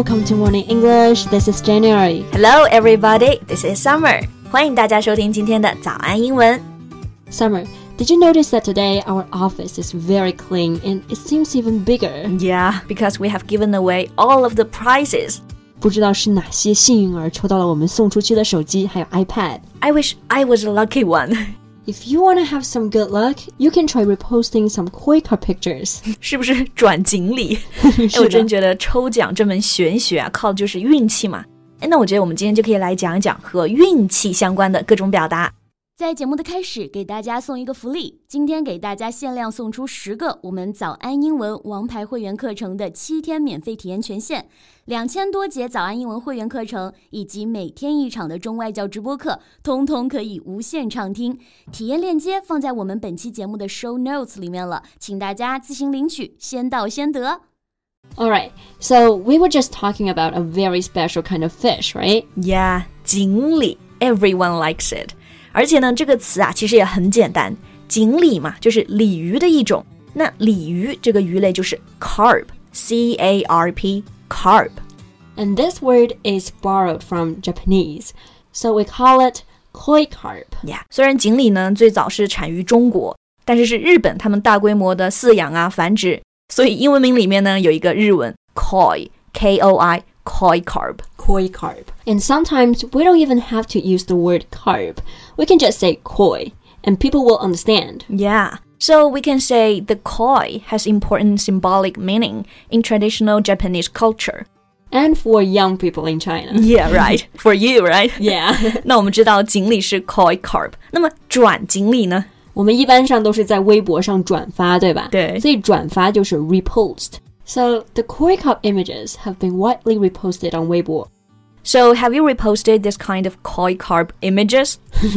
Welcome to Morning English. This is January. Hello, everybody. This is Summer. 欢迎大家收听今天的早安英文。 Summer, did you notice that today our office is very clean and it seems even bigger? Yeah, because we have given away all of the prizes. 不知道是哪些幸运儿抽到了我们送出去的手机还有 iPad. I wish I was a lucky one. If you want to have some good luck, you can try reposting some koi card pictures. 是不是转锦鲤？我真觉得抽奖这门玄学啊，靠的就是运气嘛。那我觉得我们今天就可以来讲一讲和运气相关的各种表达。 在节目的开始，给大家送一个福利，今天给大家限量送出10个我们早安英文王牌会员课程的7天免费体验权限，2000多节早安英文会员课程以及每天1场的中外教直播课，通通可以无限畅听。体验链接放在我们本期节目的 show notes 里面了，请大家自行领取，先到先得。 Alright, so we were just talking about a very special kind of fish, right? Yeah, 锦鲤 Everyone likes it. 而且呢，这个词啊其实也很简单，锦鲤嘛就是鲤鱼的一种，那鲤鱼这个鱼类就是 carp, C-A-R-P, carp. And this word is borrowed from Japanese, so we call it koi carp. Yeah, 虽然锦鲤呢最早是产于中国，但是日本他们大规模的饲养啊繁殖，所以英文名里面呢有一个日文 koi, K-O-I, koi carp. Koi carp. And sometimes we don't even have to use the word carp. We can just say koi, and people will understand. Yeah, so we can say the koi has important symbolic meaning in traditional Japanese culture. And for young people in China. Yeah, right. For you, right? Yeah. 那我们知道锦鲤是 koi carp. 那么转锦鲤呢？ 我们一般上都是在微博上转发，对吧？ 对。 所以转发就是 repost. So the koi carp images have been widely reposted on Weibo. So have you reposted this kind of koi carp images?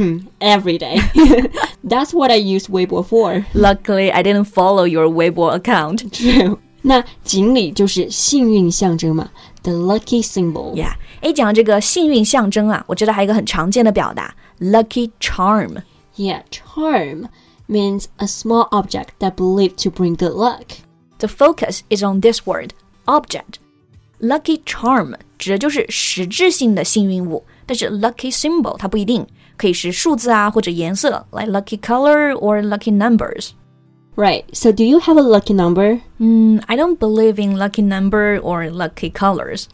Every day. That's what I use Weibo for. Luckily, I didn't follow your Weibo account. True. 那锦鲤就是幸运象征嘛 The lucky symbol. Yeah. 讲到这个幸运象征啊，我知道还有一个很常见的表达 lucky charm. Yeah, charm means a small object that believed to bring good luck. The focus is on this word, object. Lucky charm 指的就是实质性的幸运物，但是 lucky symbol 它不一定，可以是数字啊或者颜色 like lucky color or lucky numbers. Right, so do you have a lucky number? I don't believe in lucky number or lucky colors.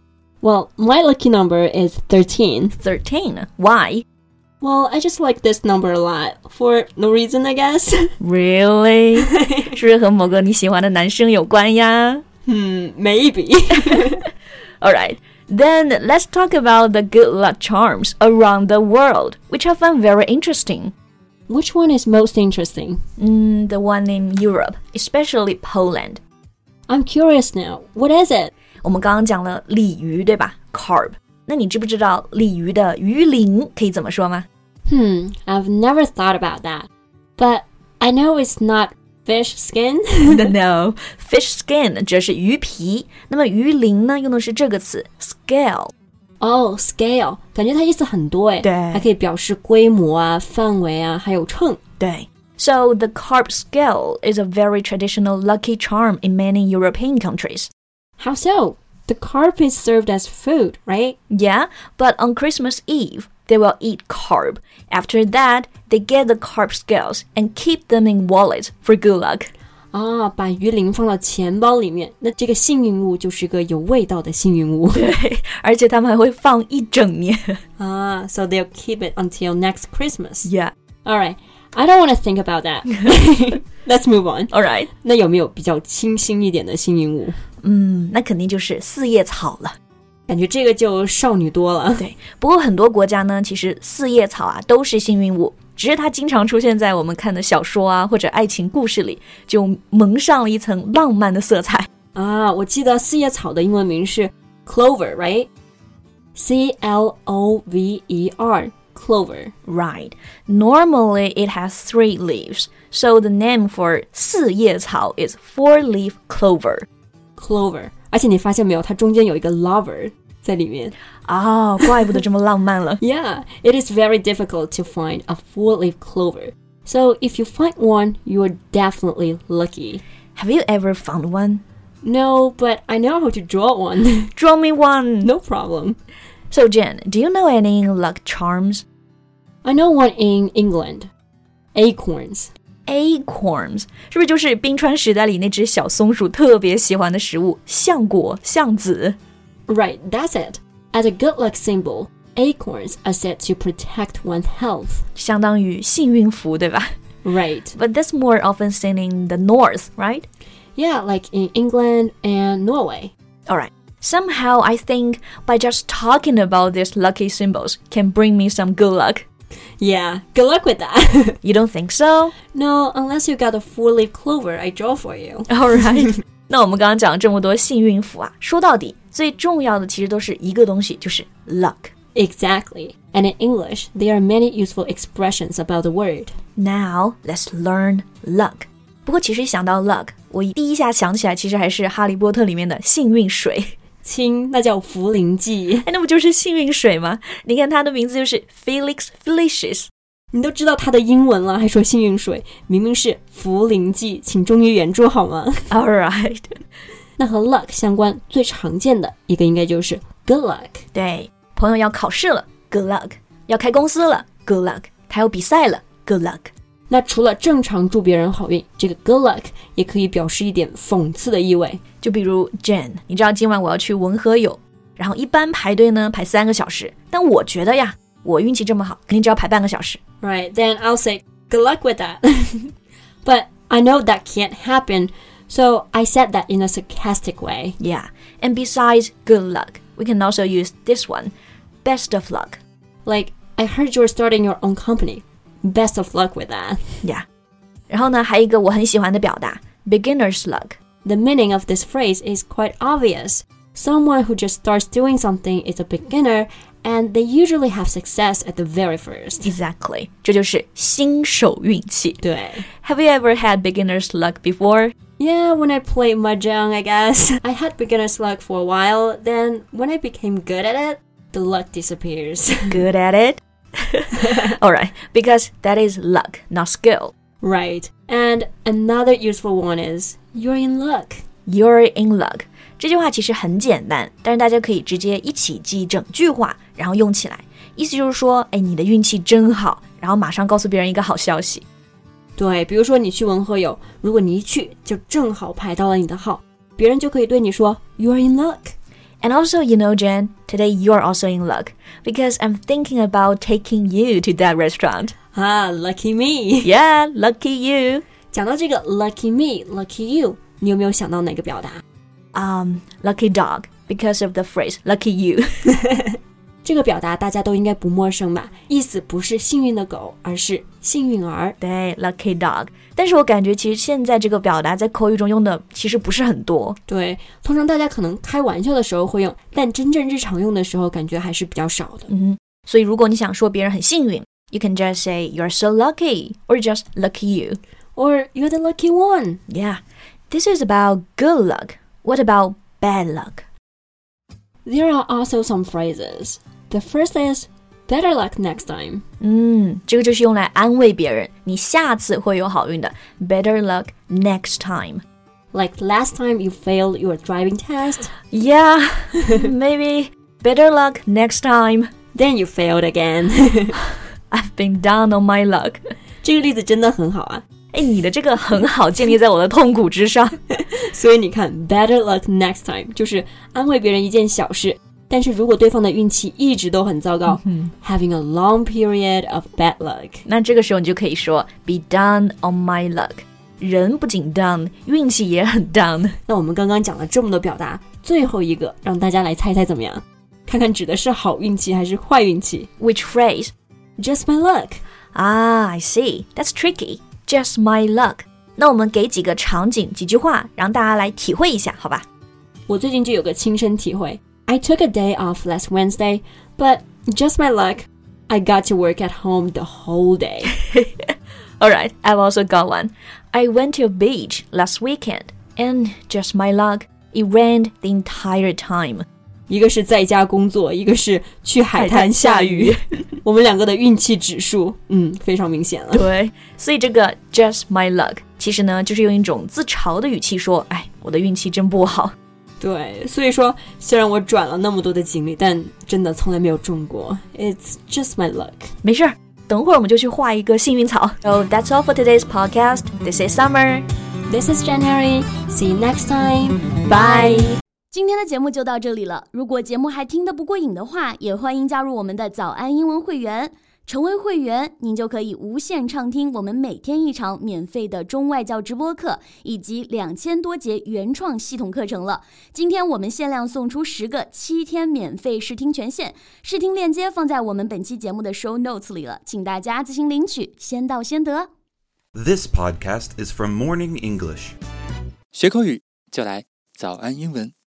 Well, my lucky number is 13. 13? Why? Well, I just like this number a lot. For no reason, I guess. Really? 是不是和某个你喜欢的男生有关呀 ？Maybe. Alright, then let's talk about the good luck charms around the world, which I find very interesting. Which one is most interesting? The one in Europe, especially Poland. I'm curious now. What is it? 我们刚刚讲了鲤鱼，对吧？ Carp. 那你知不知道鲤鱼的鱼鳞可以怎么说吗？ I've never thought about that. But I know it's not fish skin. No, fish skin 指的是鱼皮，那么鱼鳞呢用的是这个词 scale. Oh, scale. 感觉它意思很多诶。 对， 还可以表示规模啊、范围啊，还有秤。 对。So the carp scale is a very traditional lucky charm in many European countries. How so? The carp is served as food, right? Yeah, but on Christmas Eve, they will eat carp. After that, they get the carp scales and keep them in wallets for good luck. 啊，把鱼鳞放到钱包里面，那这个幸运物就是个有味道的幸运物。 对，而且他们还会放一整年。 啊 so they'll keep it until next Christmas. Yeah. Alright, I don't want to think about that. Let's move on. Alright. 那有没有比较清新一点的幸运物？ 那肯定就是四叶草了。 感觉这个就少女多了。 对，不过很多国家呢，其实四叶草啊都是幸运物，只是它经常出现在我们看的小说啊或者爱情故事里，就蒙上了一层浪漫的色彩。 啊，我记得四叶草的英文名是 clover, right? C-L-O-V-E-R, clover. Right. Normally it has 3 leaves, so the name for 四叶草 is 4-leaf clover. Clover. 而且你发现没有，它中间有一个 lover 在里面。 怪不得这么浪漫了。 Yeah, it is very difficult to find a 4-leaf clover. So if you find one, you are definitely lucky. Have you ever found one? No, but I know how to draw one. Draw me one. No problem. So Jen, do you know any luck charms? I know one in England. Acorns. Acorns 是不是就是冰川时代里那只小松鼠特别喜欢的食物，橡果、橡子？ Right, that's it. As a good luck symbol, acorns are said to protect one's health. 相当于幸运符，对吧？ Right. But that's more often seen in the north, right? Yeah, like in England and Norway. Alright. Somehow I think by just talking about these lucky symbols can bring me some good luck. Yeah, good luck with that. You don't think so? No, unless you got a 4-leaf clover I draw for you. Alright. 那我们刚刚讲了这么多幸运符啊，说到底最重要的其实都是一个东西，就是 luck. Exactly. And in English, there are many useful expressions about the word. Now, let's learn luck. 不过其实想到 luck, 我第一下想起来其实还是哈利波特里面的幸运水。 亲，那叫茯苓剂。 那不就是幸运水吗？你看它的名字就是 Felix Felicis。 你都知道它的英文了，还说幸运水，明明是茯苓剂，请忠于原著好吗？ Alright. 那和 luck 相关最常见的一个应该就是 good luck。 对，朋友要考试了 ，good luck； 要开公司了 ，good luck； 他有比赛了 ，good luck。 那除了正常祝别人好运，这个 good luck 也可以表示一点讽刺的意味。 就比如 Jen， 你知道今晚我要去文和友，然后一般排队呢排3个小时，但我觉得呀，我运气这么好，肯定只要排半个小时。 Right, then I'll say good luck with that. But I know that can't happen, so I said that in a sarcastic way. Yeah, and besides good luck, we can also use this one, best of luck. Like, I heard you're starting your own company. Best of luck with that. Yeah. 然后呢，还有一个我很喜欢的表达 beginner's luck. The meaning of this phrase is quite obvious. Someone who just starts doing something is a beginner, and they usually have success at the very first. Exactly. 这就是新手运气。 对。 Have you ever had beginner's luck before? Yeah, when I played mahjong, I guess. I had beginner's luck for a while, then when I became good at it, the luck disappears. Good at it? Alright, because that is luck, not skill. Right. And another useful one is, you're in luck. You're in luck. 这句话其实很简单，但是大家可以直接一起记整句话，然后用起来。意思就是说，你的运气真好，然后马上告诉别人一个好消息。 对，比如说你去文和友，如果你一去就正好排到了你的号，别人就可以对你说 You're in luck. And also, you know, Jen, today you're also in luck because I'm thinking about taking you to that restaurant. Ah, lucky me. Yeah, lucky you. 讲到这个 lucky me, lucky you, 你有没有想到哪个表达 ？Lucky dog because of the phrase lucky you. 这个表达大家都应该不陌生吧？意思不是幸运的狗，而是幸运儿。 对 ，lucky dog。但是我感觉其实现在这个表达在口语中用的其实不是很多。 对，通常大家可能开玩笑的时候会用，但真正日常用的时候感觉还是比较少的。 所以如果你想说别人很幸运 ，you can just say you're so lucky, or just lucky you, or you're the lucky one. Yeah, this is about good luck. What about bad luck? There are also some phrases. The first is better luck next time. 这个就是用来安慰别人，你下次会有好运的。Better luck next time. Like last time you failed your driving test. Yeah, maybe better luck next time. Then you failed again. I've been down on my luck. 这个例子真的很好啊。 你的这个很好，建立在我的痛苦之上。 所以你看 better luck next time 就是安慰别人一件小事，但是如果对方的运气一直都很糟糕，having a long period of bad luck， 那这个时候你就可以说 be down on my luck。人不仅 down， 运气也很 down。 那我们刚刚讲了这么多表达，最后一个让大家来猜猜怎么样？看看指的是好运气还是坏运气 ？Which phrase? Just my luck. I see. That's tricky. Just my luck. 那我们给几个场景、几句话，让大家来体会一下，好吧？ 我最近就有个亲身体会。I took a day off last Wednesday, but just my luck, I got to work at home the whole day. Alright, I've also got one. I went to a beach last weekend, and just my luck, it rained the entire time. 一个是在家工作，一个是去海滩下雨。我们两个的运气指数，非常明显了。 对，所以这个 just my luck 其实呢，就是用一种自嘲的语气说， 我的运气真不好。 对，所以说虽然我转了那么多的经历，但真的从来没有中过。It's just my luck. 没事，等会儿我们就去画一个幸运草。So that's all for today's podcast. This is Summer. This is January. See you next time. Bye. 今天的节目就到这里了。如果节目还听得不过瘾的话，也欢迎加入我们的早安英文会员。成为会员，您就可以无限畅听我们每天一场免费的中外教直播课，以及2000多节原创系统课程了。今天我们限量送出10个7天免费试听权限，试听链接放在我们本期节目的 show notes 里了，请大家自行领取，先到先得。 This podcast is from Morning English. 学口语就来早安英文。